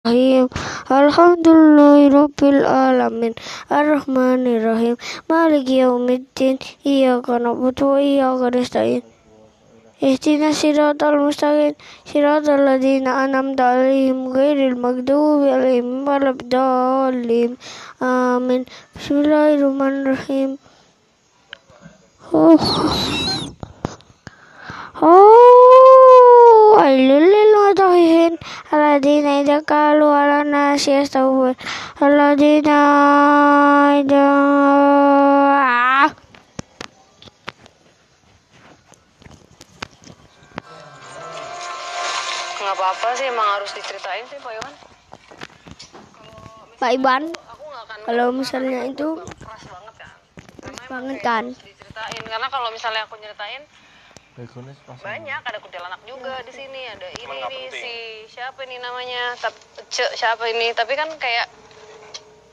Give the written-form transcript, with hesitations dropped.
Bismillahirrahmanirrahim. Alhamdulillahirabbil alamin. Arrahmanirrahim. Maliki yaumiddin. Iyyaka na'budu wa iyyaka nasta'in. Ihdinas siratal mustaqim. Siratal ladzina an'amta 'alaihim ghairil maghdubi 'alaihim waladdallin. Amin. Bismillahirrahmanirrahim. Wailul lil mutaffifin alladzina idza qalu 'alan nasi yastawfun alladzina idza Nggak apa-apa sih, emang harus diceritain sih Pak Iwan. Pak Iwan, Aku nggak akan kalau misalnya itu keras banget kan. Karena emang banget kayak kan. harus diceritain. Karena kalau misalnya aku nyeritain banyak, ada kuntilanak juga di sini, ada ini nih si siapa ini namanya, siapa ini, tapi kan kayak